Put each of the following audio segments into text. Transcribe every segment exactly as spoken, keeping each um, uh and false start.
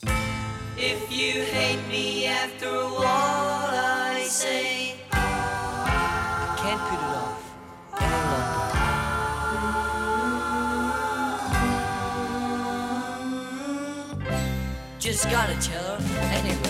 If you hate me after all I say, can't put it off any longer. Just gotta tell her anyway.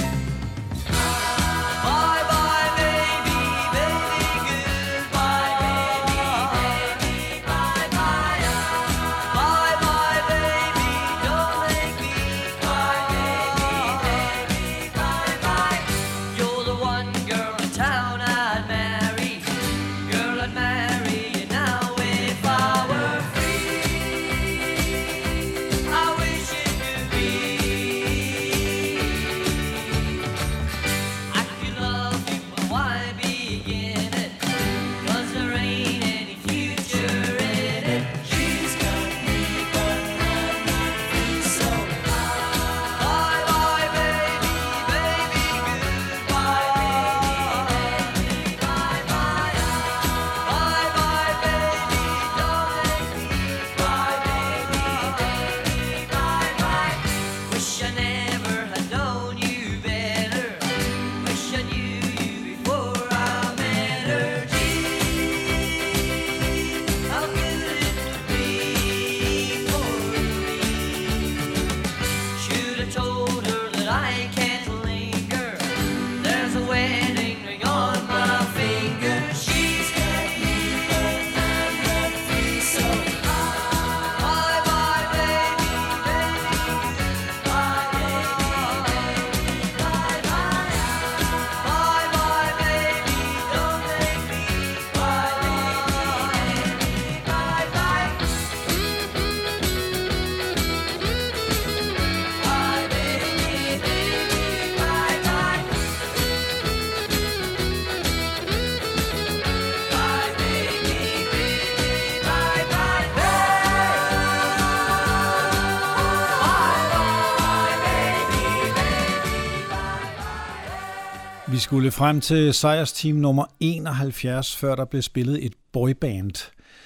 Vi skulle frem til sejrsteam nummer enoghalvfjerds, før der blev spillet et boyband.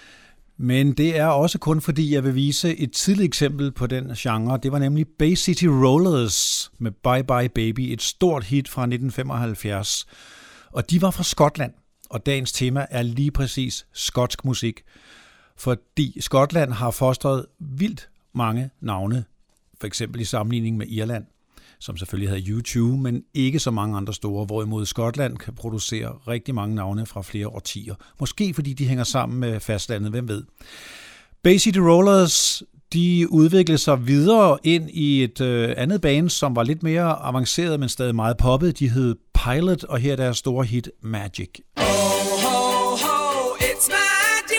Men det er også kun fordi, jeg vil vise et tidligt eksempel på den genre. Det var nemlig Bay City Rollers med Bye Bye Baby, et stort hit fra nitten femoghalvfjerds. Og de var fra Skotland, og dagens tema er lige præcis skotsk musik. Fordi Skotland har fostret vildt mange navne, for eksempel i sammenligning med Irland, som selvfølgelig havde U to, men ikke så mange andre store, hvorimod Skotland kan producere rigtig mange navne fra flere årtier. Måske fordi de hænger sammen med fastlandet, hvem ved. Bay City Rollers, de udviklede sig videre ind i et øh, andet band, som var lidt mere avanceret, men stadig meget poppet. De hed Pilot, og her er deres store hit Magic. Oh, ho, ho, it's magic.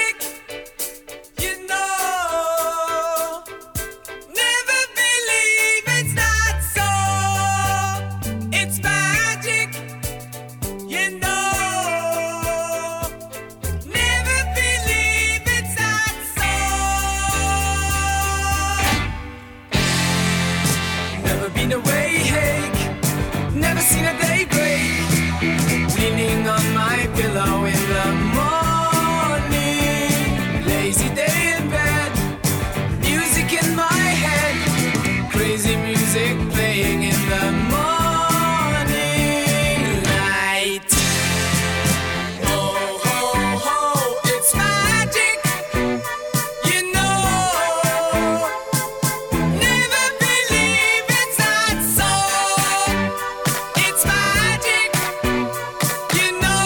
Pillow in the morning, lazy day in bed, music in my head, crazy music playing in the morning light. Oh, ho, ho, it's magic, you know, never believe it's not so. It's magic, you know.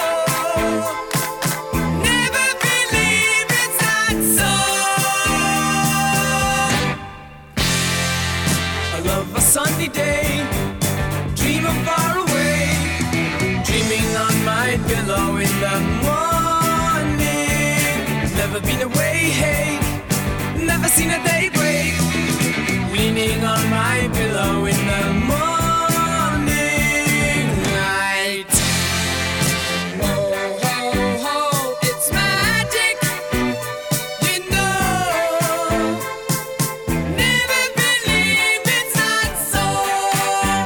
Sunny day, dream of far away, dreaming on my pillow in the morning. Never been away, hey, never seen a day break, leaning on my pillow in the morning light. Oh, ho, ho, it's magic, you know. Never believe it's not so.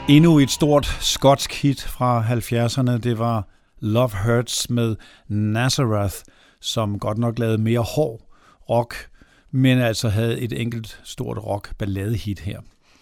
Endnu et stort skotsk hit fra halvfjerdserne, det var Love Hurts med Nazareth, som godt nok lavede mere hård rock, men altså havde et enkelt stort rock-balladehit her.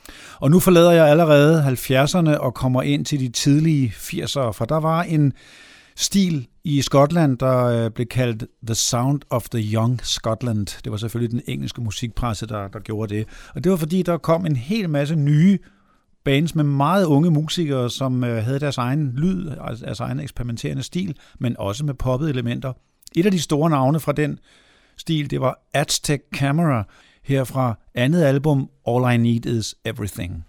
Og nu forlader jeg allerede halvfjerdserne og kommer ind til de tidlige firsere, for der var en stil i Skotland, der blev kaldt The Sound of the Young Scotland. Det var selvfølgelig den engelske musikpresse, der, der gjorde det. Og det var fordi, der kom en hel masse nye bands med meget unge musikere, som havde deres egen lyd, altså deres egen eksperimenterende stil, men også med poppede elementer. Et af de store navne fra den stil, det var Aztec Camera, her fra andet album All I Need Is Everything.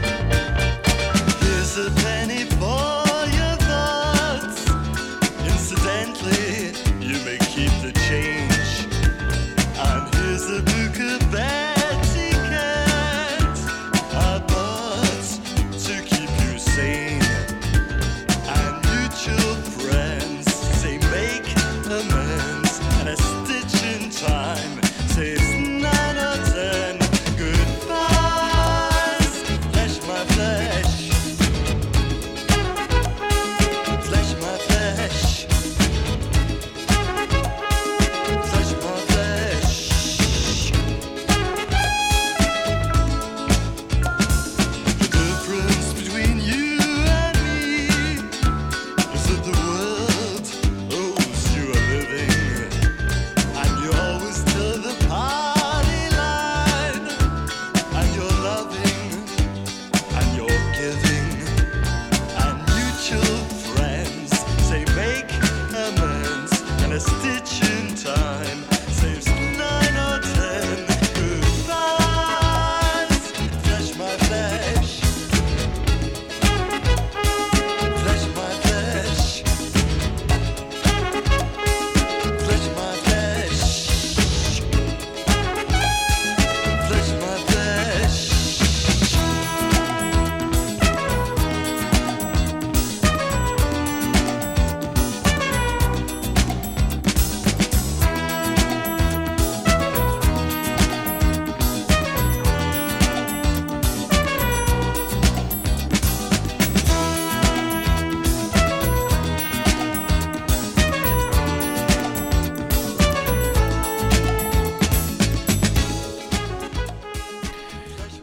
Here's a penny for your thoughts.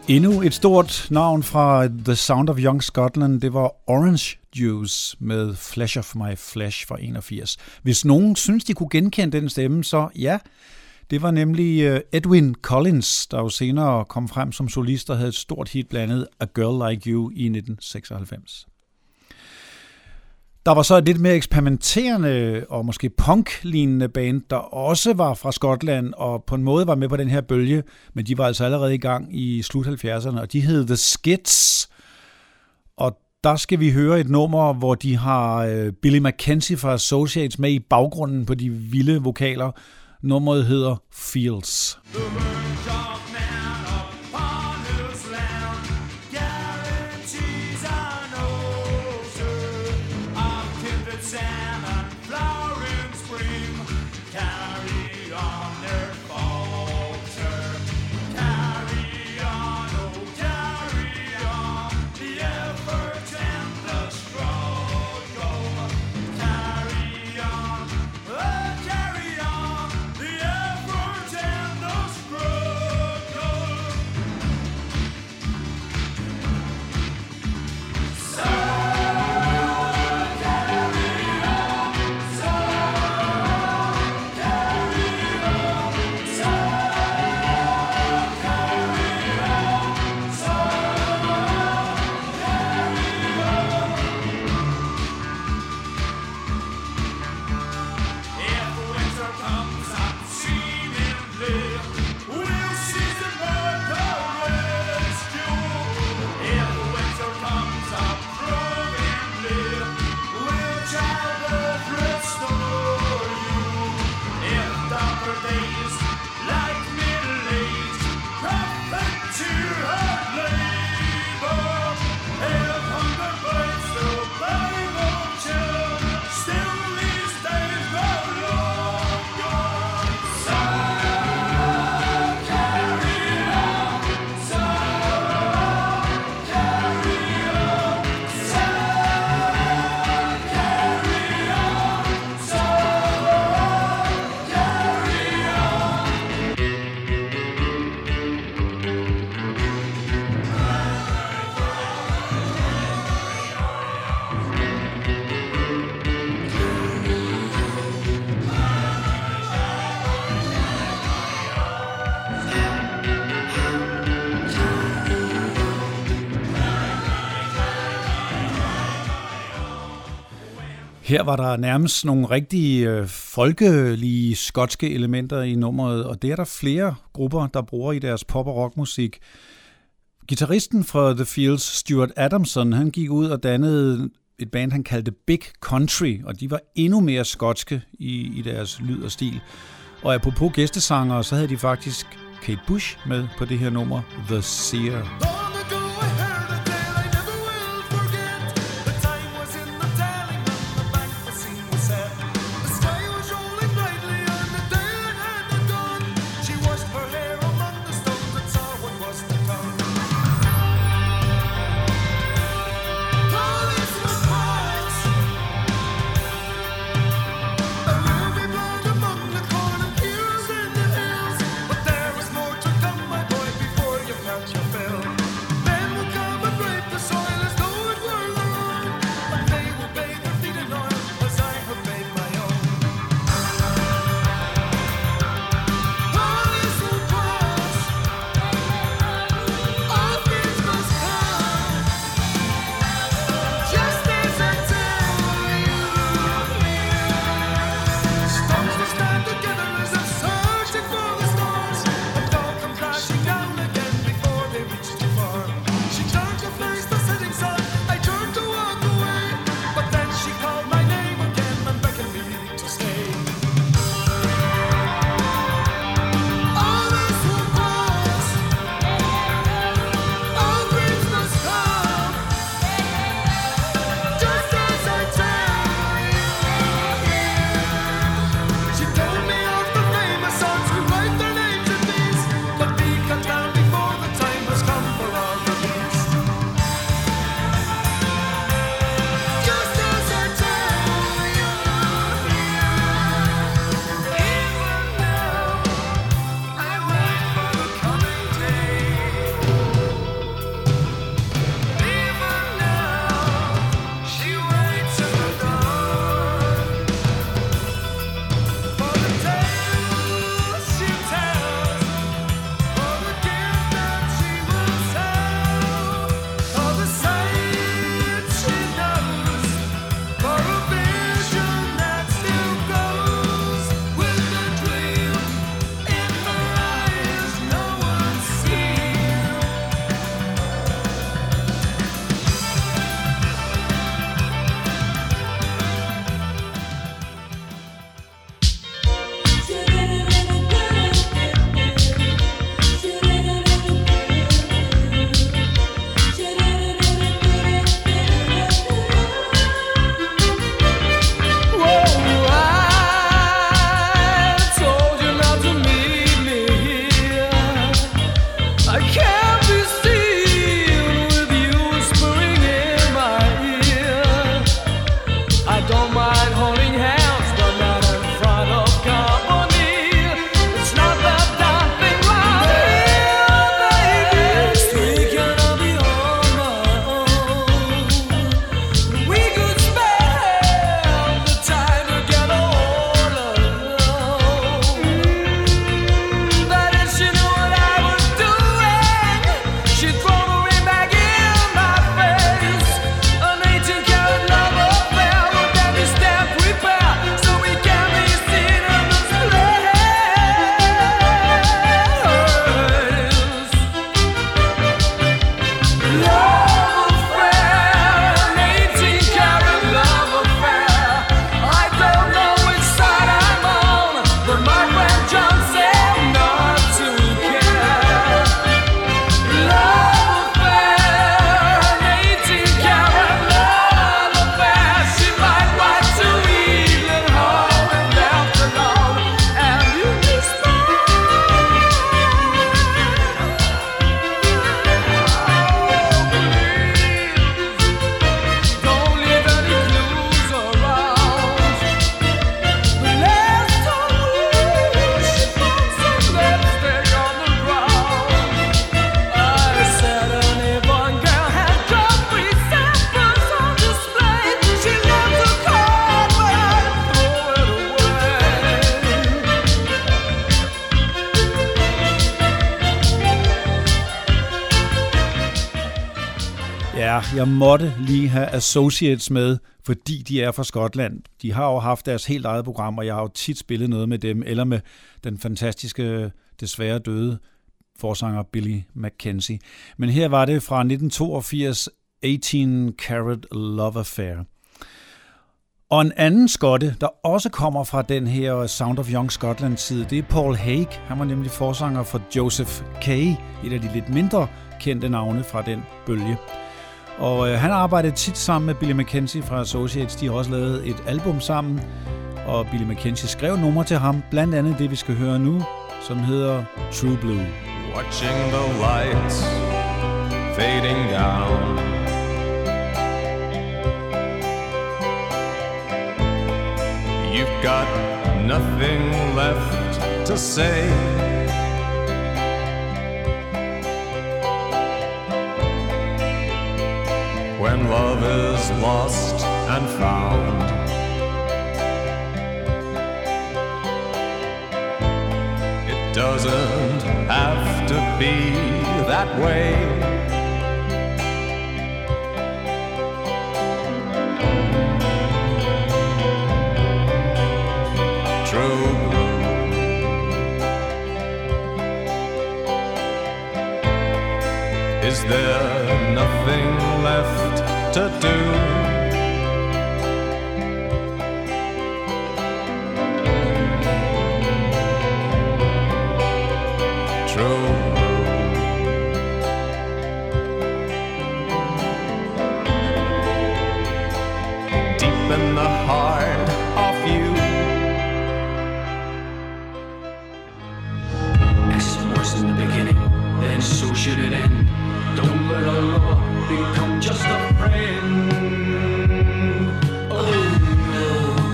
Endnu et stort navn fra The Sound of Young Scotland, det var Orange Juice med Flesh of My Flesh fra enogfirs. Hvis nogen synes, de kunne genkende den stemme, så ja, det var nemlig Edwyn Collins, der jo senere kom frem som solist og havde et stort hit blandt andet A Girl Like You i nitten seksoghalvfems. Der var så et lidt mere eksperimenterende og måske punk-lignende band, der også var fra Skotland og på en måde var med på den her bølge, men de var altså allerede i gang i slut halvfjerdserne, og de hed The Skids. Og der skal vi høre et nummer, hvor de har Billy Mackenzie fra Associates med i baggrunden på de vilde vokaler. Nummeret hedder Fields. Her var der nærmest nogle rigtige øh, folkelige skotske elementer i nummeret, og det er der flere grupper, der bruger i deres pop- og rockmusik. Gitarristen fra The Fields, Stuart Adamson, han gik ud og dannede et band, han kaldte Big Country, og de var endnu mere skotske i, i deres lyd og stil. Og apropos gæstesangere, så havde de faktisk Kate Bush med på det her nummer, The Seer. Ja, jeg måtte lige have Associates med, fordi de er fra Skotland. De har jo haft deres helt eget program, og jeg har jo tit spillet noget med dem, eller med den fantastiske, desværre døde forsanger Billy Mackenzie. Men her var det fra nitten toogfirs, eighteen Carat Love Affair. Og en anden skotte, der også kommer fra den her Sound of Young Scotland-tid, det er Paul Haig. Han var nemlig forsanger for Joseph Kay, et af de lidt mindre kendte navne fra den bølge. Og øh, han arbejdede tit sammen med Billy Mackenzie fra Associates. De har også lavet et album sammen, og Billy Mackenzie skrev numre til ham, blandt andet det, vi skal høre nu, som hedder True Blue. Watching the lights fading down, you've got nothing left to say. When love is lost and found, it doesn't have to be that way. True blue. Is there nothing left to do? True blue. Deep in the heart of you, as it was in the beginning, then so should it end. Don't let a lover become just a friend. Oh no,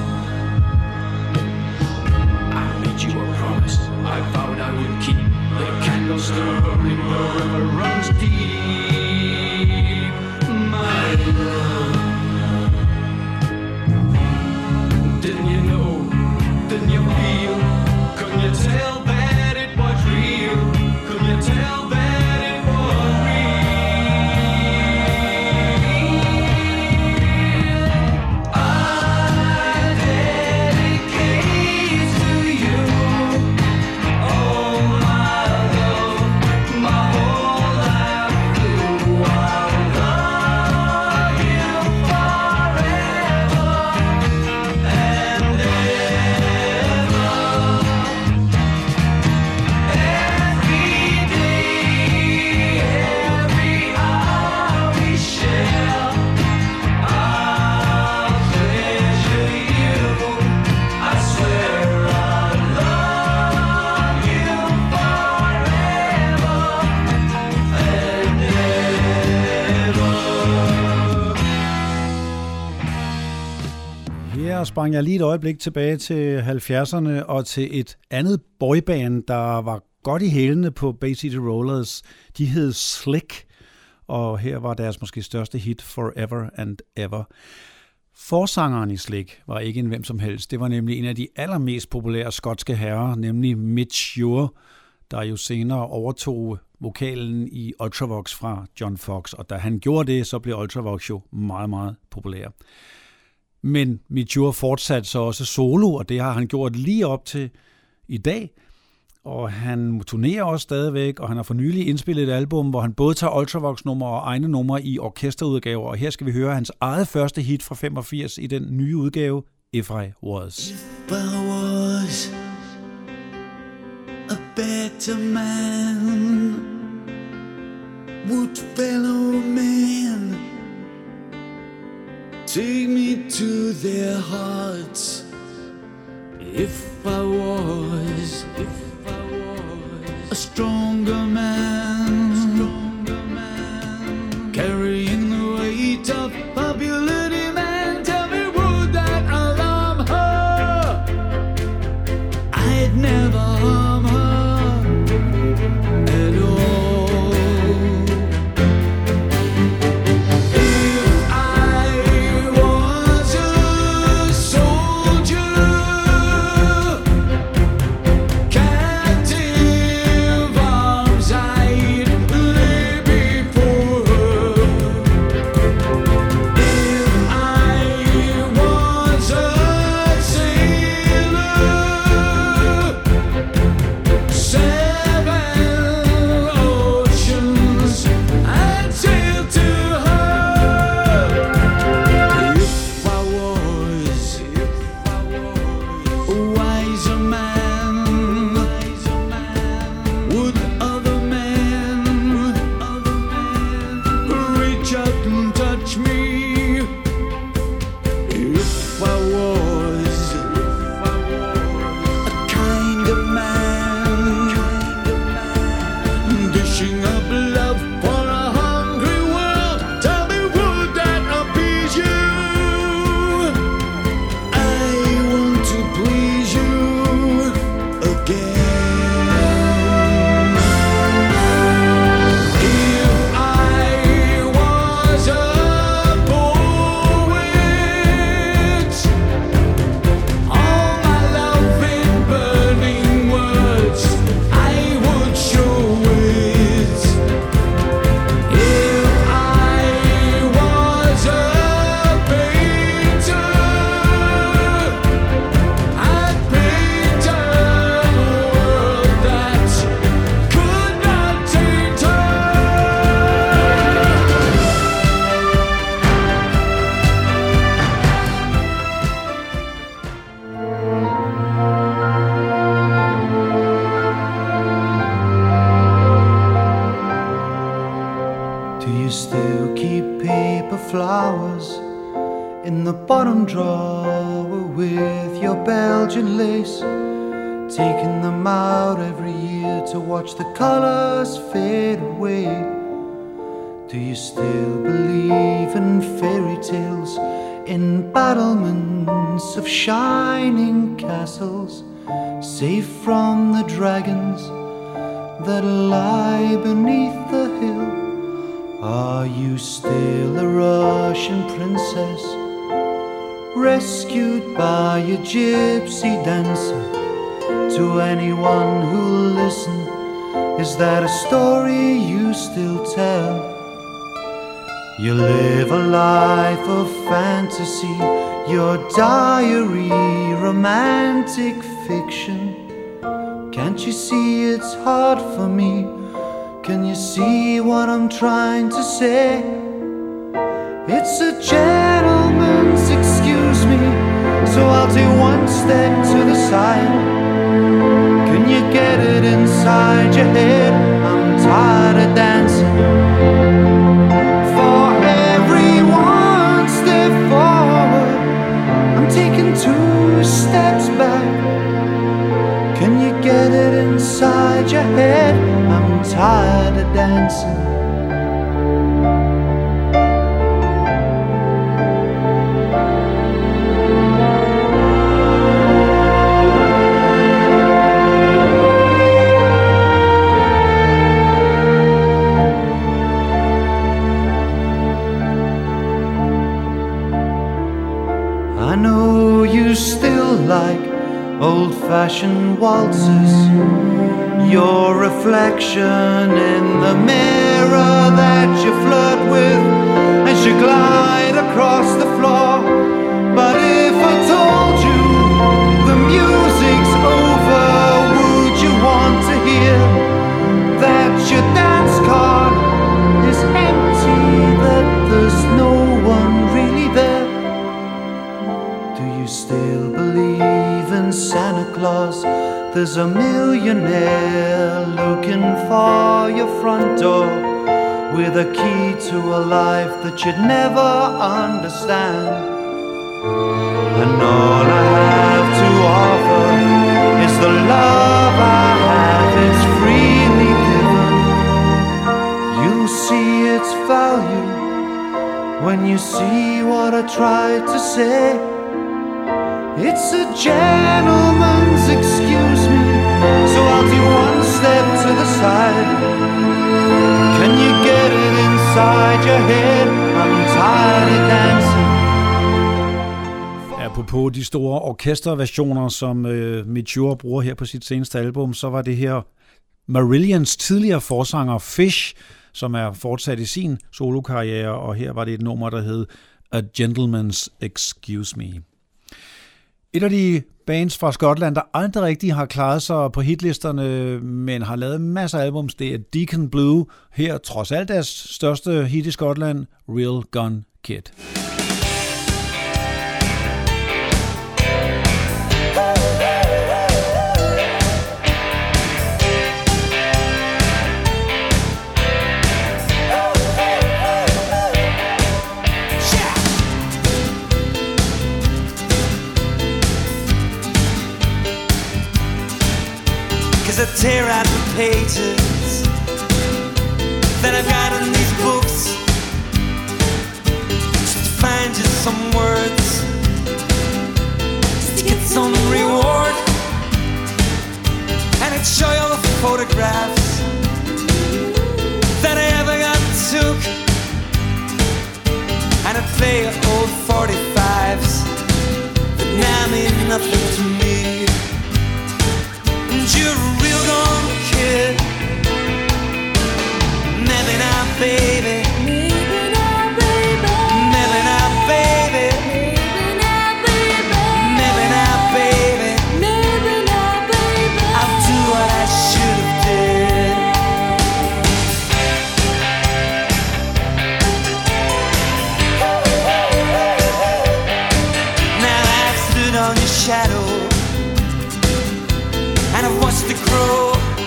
I made you a promise I vowed I would keep. The candle still burning, the river runs deep. My love, didn't you know, didn't you feel, couldn't you tell that it was real, couldn't you tell that sprang jeg lige et øjeblik tilbage til halvfjerdserne og til et andet boyband, der var godt i hælene på Bay City Rollers. De hed Slick, og her var deres måske største hit Forever and Ever. Forsangeren i Slick var ikke en hvem som helst. Det var nemlig en af de allermest populære skotske herrer, nemlig Mitch Ure, der jo senere overtog vokalen i Ultravox fra John Fox, og da han gjorde det, så blev Ultravox jo meget, meget populær. Men Mitch Ure fortsatte så også solo, og det har han gjort lige op til i dag. Og han turnerer også stadigvæk, og han har for nylig indspillet et album, hvor han både tager Ultravox-numre og egne numre i orkesterudgaver. Og her skal vi høre hans eget første hit fra femogfirs i den nye udgave, If I Was. If I was a better man, would fellow men take me to their hearts? If I was, if I was a stronger man, stronger man, carrying the weight of popularity, man, tell me, would that alarm her? I'd never harm her at all. If I was a soldier, captive arms I drawer with your Belgian lace, taking them out every year to watch the colors fade away. Do you still believe in fairy tales, in battlements of shining castles, safe from the dragons that lie beneath the hill? Are you still a Russian princess, rescued by a gypsy dancer? To anyone who'll listen, is that a story you still tell? You live a life of fantasy, your diary romantic fiction. Can't you see it's hard for me? Can you see what I'm trying to say? It's a gentleman's excuse me, so I'll take one step to the side. Can you get it inside your head? I'm tired of dancing. For every one step forward, I'm taking two steps back. Can you get it inside your head? I'm tired of dancing. I know you still like old-fashioned waltzes, your reflection in the mirror that you flirt with as you glide across the floor. But if I told you the music's over, would you want to hear that your dance card is empty, that there's no one really there? Do you still believe in Santa Claus? There's a millionaire looking for your front door with a key to a life that you'd never understand. And all I have to offer is the love I have, it's freely given. You'll see its value when you see what I tried to say. It's a gentleman's excuse me, so I'll do one step to the side. Can you get it inside your head? I'm tired of dancing. Apropos de store orkesterversioner, som øh, Mature bruger her på sit seneste album, så var det her Marillions tidligere forsanger Fish, som er fortsat i sin solokarriere, og her var det et nummer, der hed A Gentleman's Excuse Me. Et af de bands fra Skotland, der aldrig rigtig har klaret sig på hitlisterne, men har lavet masser af albums, det er Deacon Blue. Her, trods alt deres største hit i Skotland, Real Gun Kid. I tear out the pages that I've got in these books just to find just some words, just to get some reward, and I'd show you all the photographs that I ever got took, and I'd play your old forty-fives that now mean nothing to me. You're a real gun kid. Maybe not, baby. Maybe not, baby. Maybe not, baby. Maybe not, baby. Maybe not, baby. I'll do what I should have did. Now I've stood on your shadow, and I've watched it grow,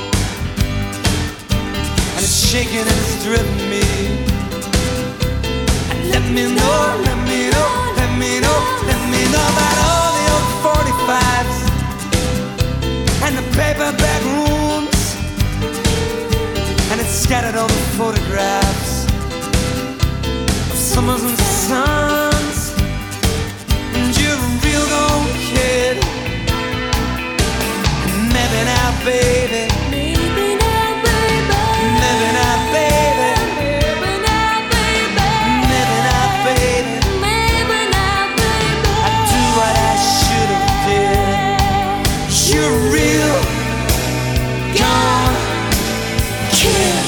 and it's shaking and it's driven me. And let me know, let me know, let me know, let me know about all the old forty-fives and the paperback rooms, and it's scattered all the photographs of summers and suns. And you're a real old kid. Maybe now, baby. Maybe now, baby. Maybe now, baby. Maybe now, baby. Maybe now, baby. Maybe now, baby. I do what I should have did. You're a real gone kid.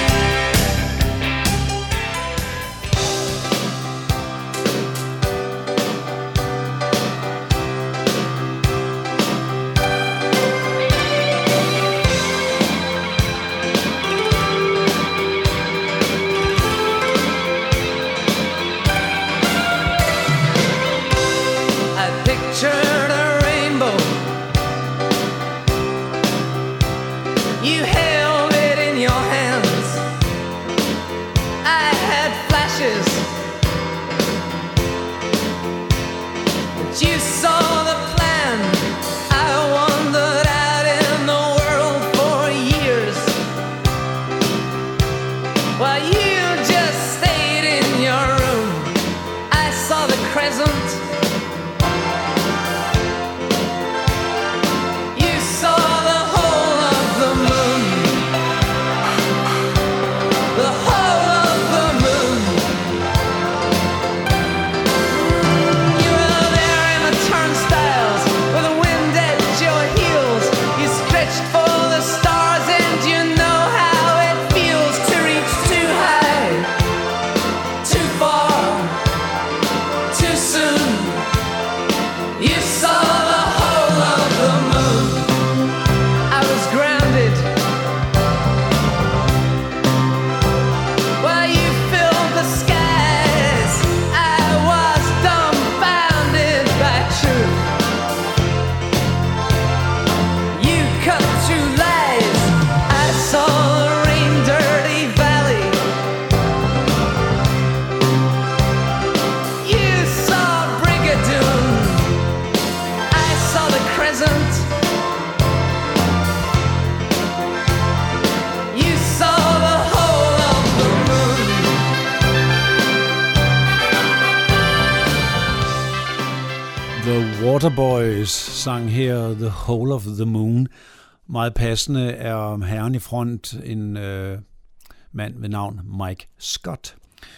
Waterboys sang her The Whole of the Moon. Meget passende er herren i front en øh, mand ved navn Mike Scott.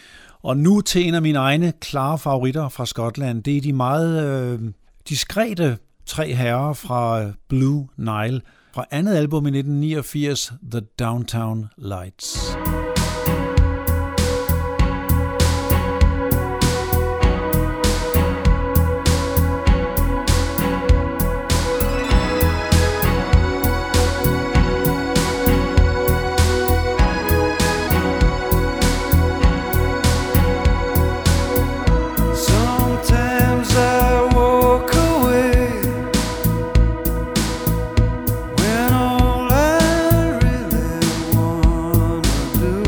Og nu til en af mine egne klare favoritter fra Skotland. Det er de meget øh, diskrete tre herrer fra Blue Nile fra andet album i nitten niogfirs, The Downtown Lights. When all I really wanna do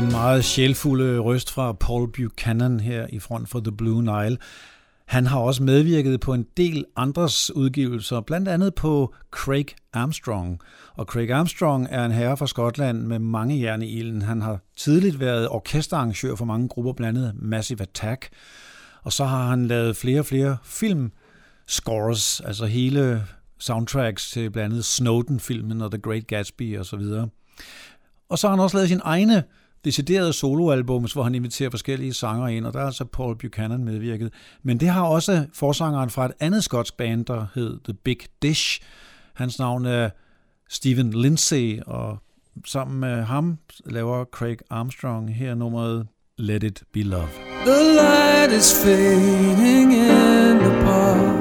Den meget sjælfulde røst fra Paul Buchanan her i front for The Blue Nile. Han har også medvirket på en del andres udgivelser, blandt andet på Craig Armstrong. Og Craig Armstrong er en herre fra Skotland med mange jern i ilden. Han har tidligt været orkesterarrangør for mange grupper, blandt andet Massive Attack. Og så har han lavet flere og flere filmscores, altså hele soundtracks til blandt andet Snowden-filmen og The Great Gatsby osv. Og så har han også lavet sine egne deciderede soloalbums, hvor han inviterer forskellige sangere ind, og der er altså Paul Buchanan medvirket. Men det har også forsangeren fra et andet skotsk band, der hed The Big Dish. Hans navn er Stephen Lindsay, og sammen med ham laver Craig Armstrong her nummeret Let It Be Love. The light is fading in the park.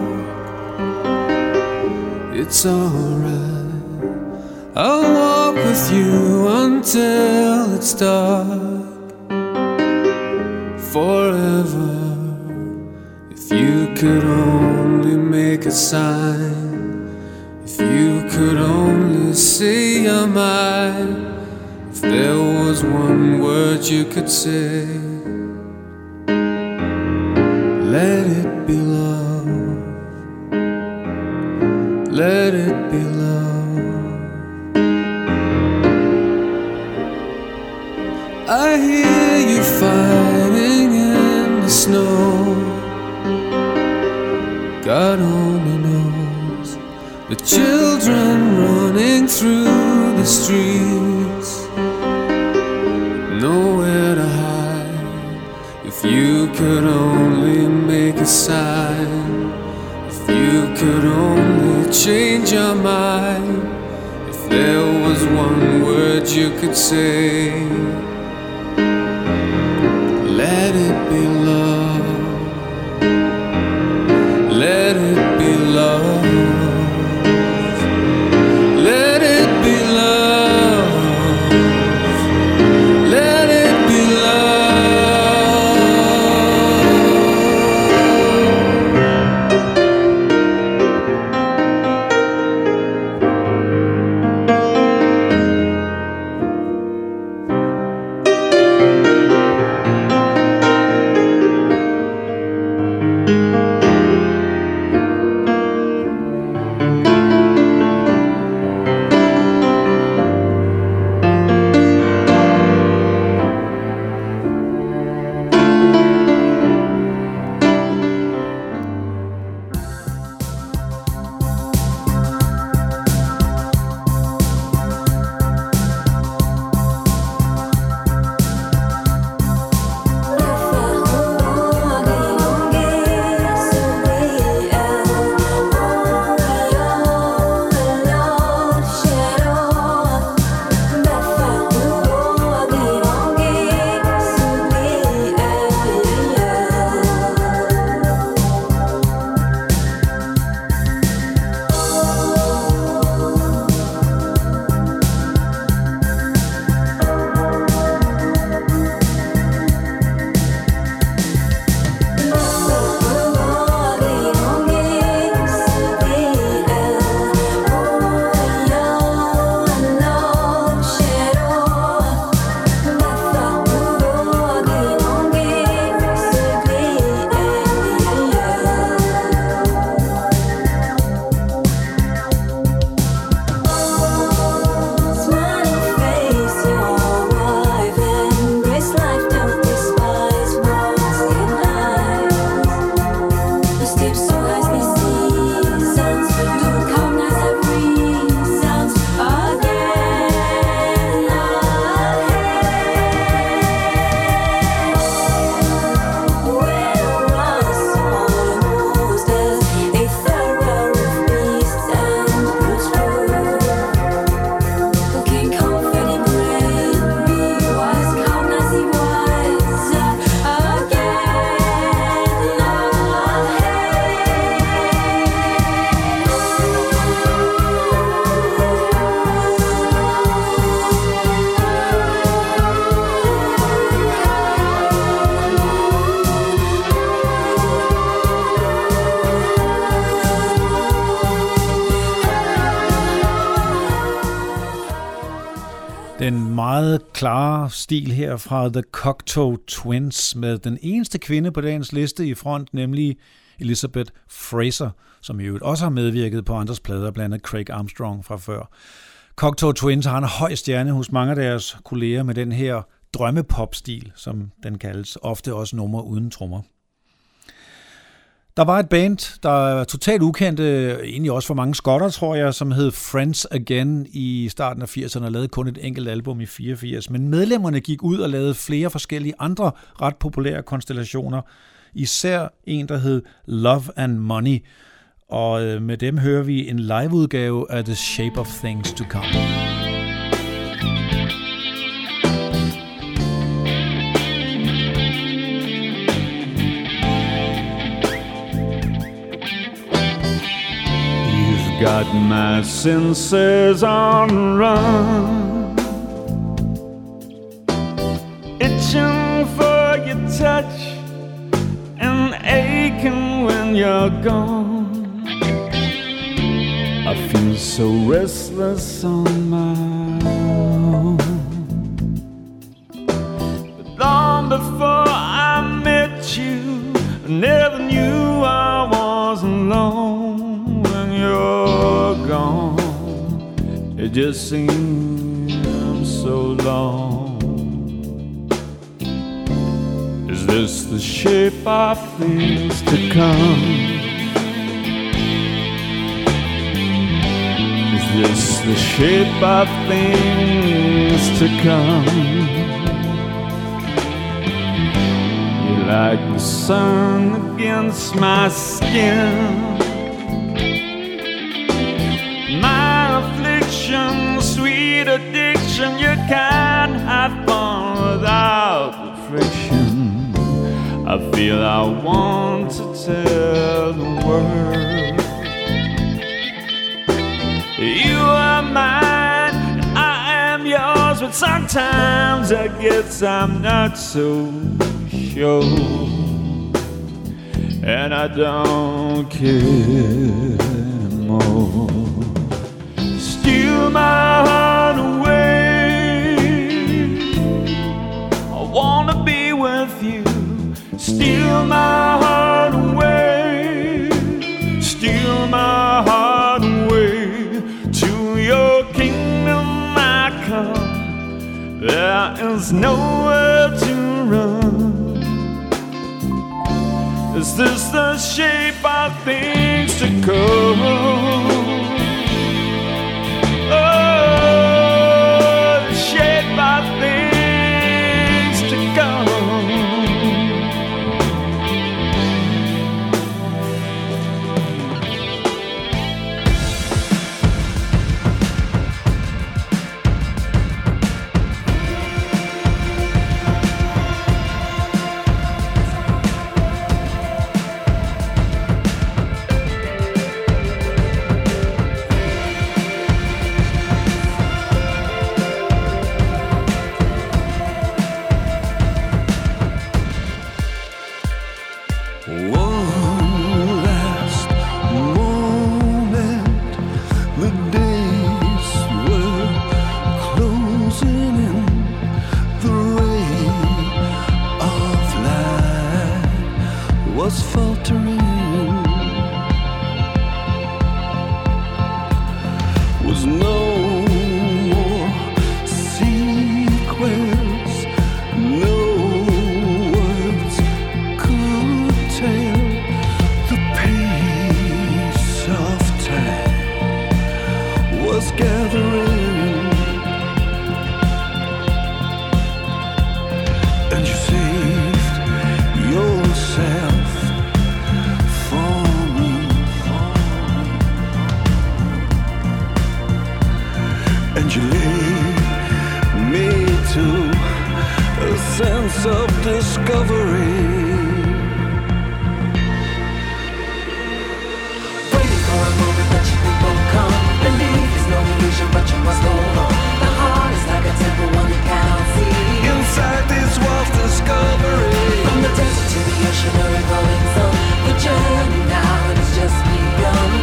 It's alright. I'll walk with you until it's dark. Forever. If you could only make a sign. If you could only say you're mine. If there was one word you could say. Let it be love. Let it be love. I hear you fighting in the snow. God only knows. The children running through the streets, nowhere to hide. If you could only make a sign. If you could only change your mind. If there was one word you could say. Let it be love. Let it be love. Let it be love. Let it be Den meget klare stil her fra The Cocteau Twins med den eneste kvinde på dagens liste i front, nemlig Elizabeth Fraser, som i øvrigt også har medvirket på andres plader, blandt andet Craig Armstrong fra før. Cocteau Twins har en høj stjerne hos mange af deres kolleger med den her drømmepop-stil, som den kaldes, ofte også nummer uden trommer. Der var et band, der er totalt ukendte, egentlig også for mange skotter, tror jeg, som hed Friends Again i starten af firserne og lavede kun et enkelt album i fireogfirs. Men medlemmerne gik ud og lavede flere forskellige andre ret populære konstellationer. Især en, der hed Love and Money. Og med dem hører vi en liveudgave af The Shape of Things to Come. Got my senses on the run, itching for your touch and aching when you're gone. I feel so restless on my own. But long before I met you, I never knew I was alone. You're gone, it just seems so long. Is this the shape of things to come? Is this the shape of things to come? You're like the sun against my skin, sweet addiction. You can't have fun without the friction. I feel I want to tell the world you are mine and I am yours, but sometimes I guess I'm not so sure, and I don't care more. Steal my heart away, I wanna be with you. Steal my heart away, steal my heart away. To your kingdom I come, there is nowhere to run. Is this the shape of things to come?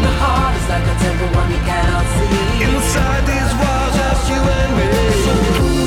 Inside these walls, just you and me.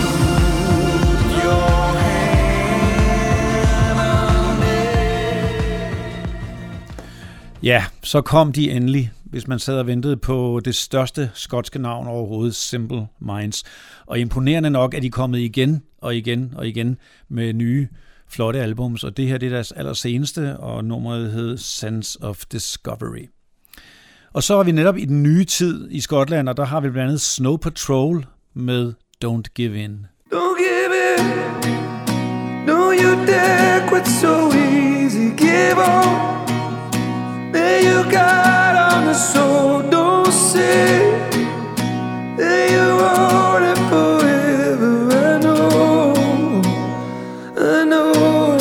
Ja, så kom de endelig, hvis man sad og ventede på det største skotske navn overhovedet, Simple Minds. Og imponerende nok er de kommet igen og igen og igen med nye, flotte albums, og det her det er deres allerseneste, og nummeret hed Sense of Discovery. Og så er vi netop i den nye tid i Skotland, og der har vi blandt andet Snow Patrol med Don't Give In. Don't give in, no you dare quit so easy, give on. There you got on the soul, don't say that you want it forever. I know, I know.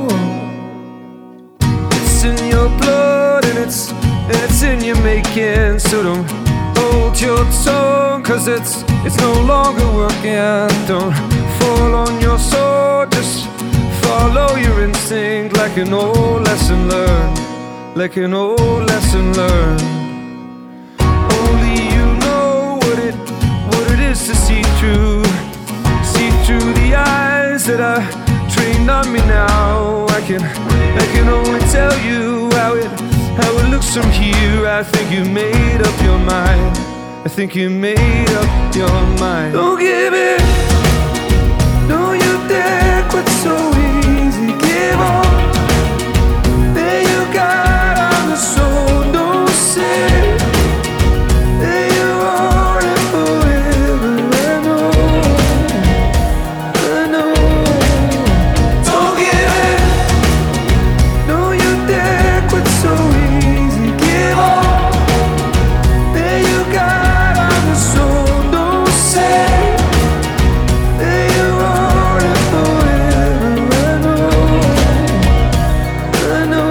It's in your blood and it's it's in your making. So don't hold your tongue, cause it's it's no longer working. Don't fall on your sword, just follow your instinct like an old lesson learned. Like an old lesson learned. Only you know what it what it is to see through, see through the eyes that are trained on me now. I can I can only tell you how it how it looks from here. I think you made up your mind. I think you made up your mind. Don't give in, no you dare quit so easy. Give on. There you got. So don't say that you want it forever. I know, I know. Don't give in, no you dare quit so easy. Give on. There you got on the soul. Don't say that you want it forever. I know, I know.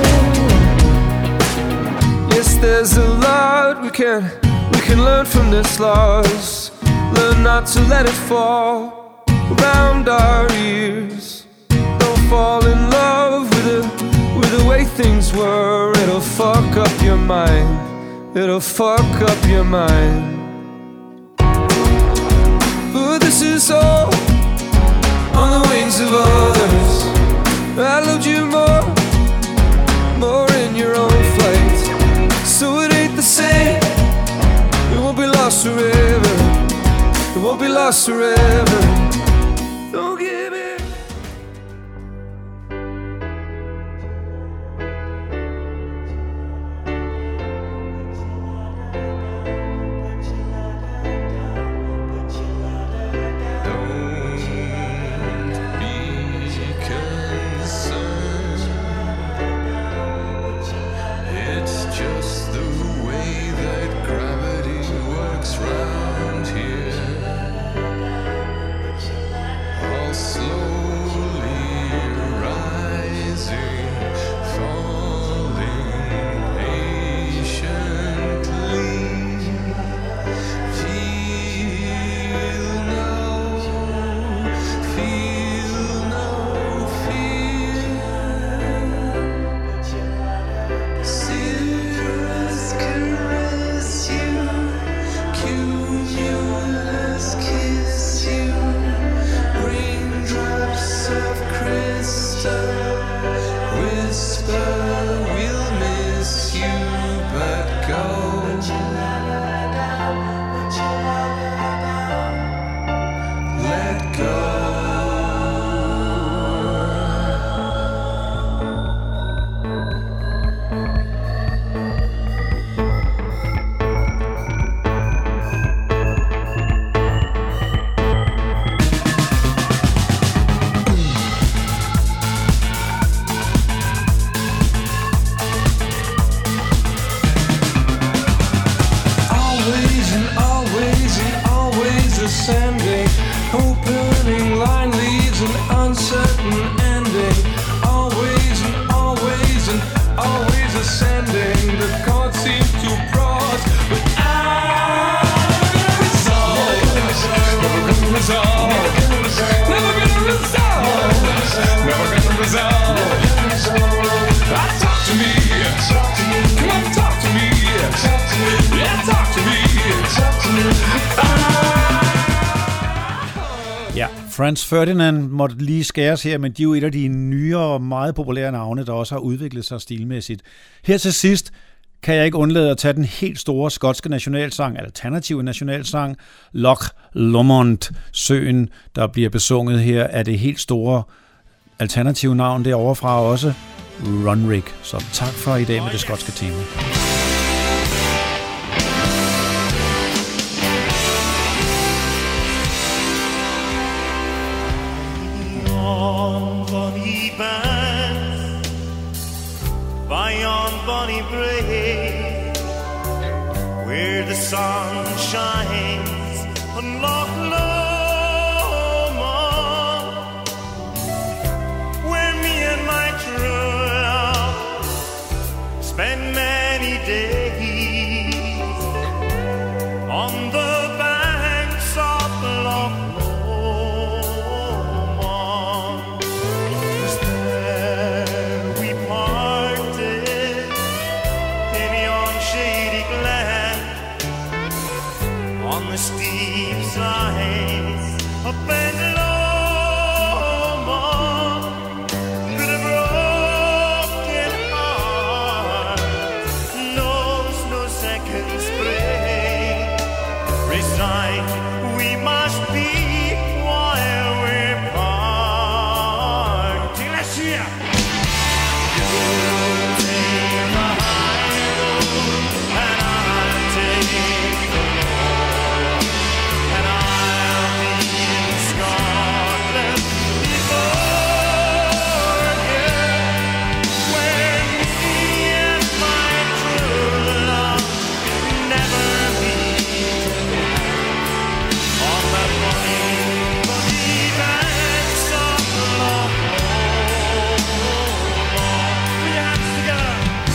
There's a lot we can we can learn from this loss. Learn not to let it fall around our ears. Don't fall in love with the with the way things were. It'll fuck up your mind. It'll fuck up your mind. But this is all on the wings of others. I loved you more, more in your own flight. So it ain't the same. It won't be lost forever. It won't be lost forever. Don't give in. Ja, Franz Ferdinand måtte lige skæres her, men de er jo et af de nyere og meget populære navne, der også har udviklet sig stilmæssigt. Her til sidst kan jeg ikke undlade at tage den helt store skotske nationalsang, alternative nationalsang, Loch Lomond, søen, der bliver besunget her af det helt store alternative navn derovre fra også, Runrig. Så tak for i dag med det skotske tema. Bonny Brae, where the sun shines on Loch Lomond, where me and my true love spend many days on the banks of Loch Lomond. 'Twas there we parted in yon shady glen, on the steep sides of Ben Lomond, with a broken heart knows no second spring. Resigned we must be while we're parting. Let's hear. You take the high road and I'll take the low, and I'll be in Scotland before you, where me and my true love never meet again, on the bonny, bonny banks of Loch Lomond. Put your hands together.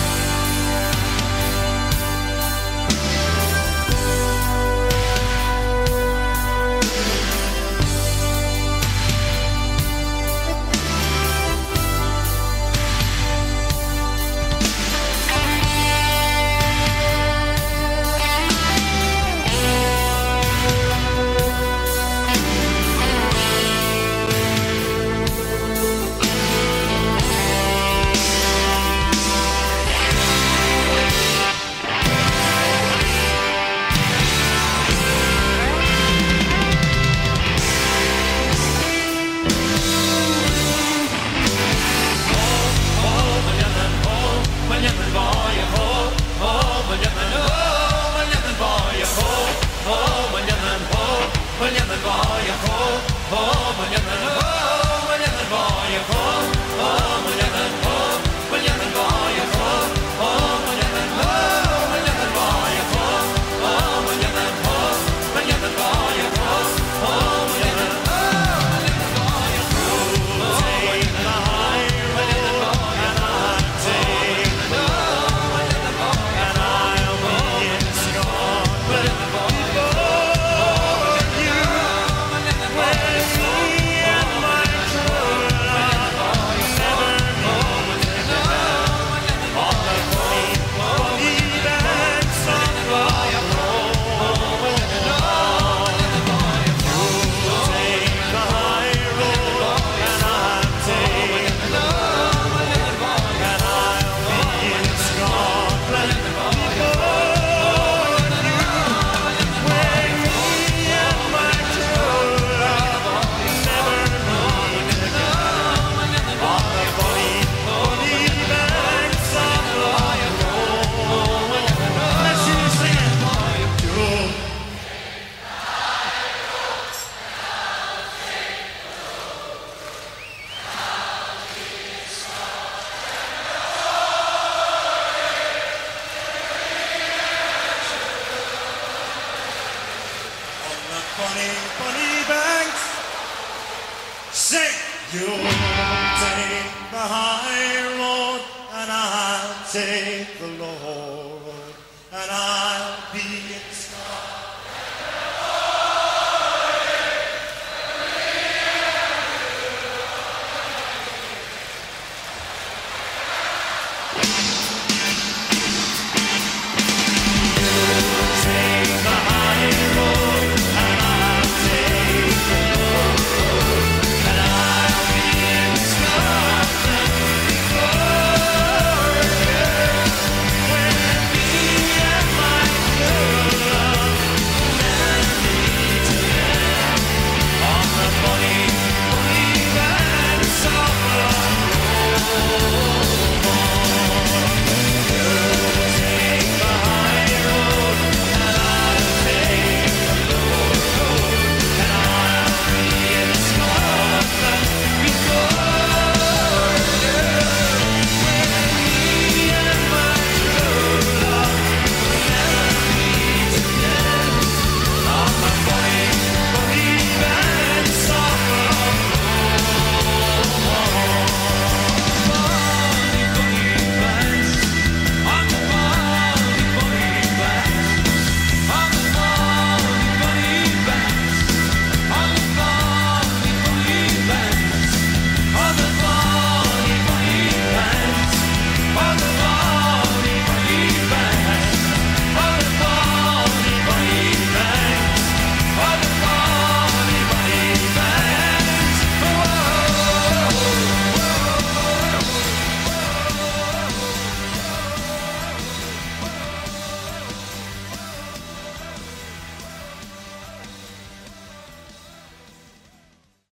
Bonny, bonny banks, say you'll take the high road and I'll take the low.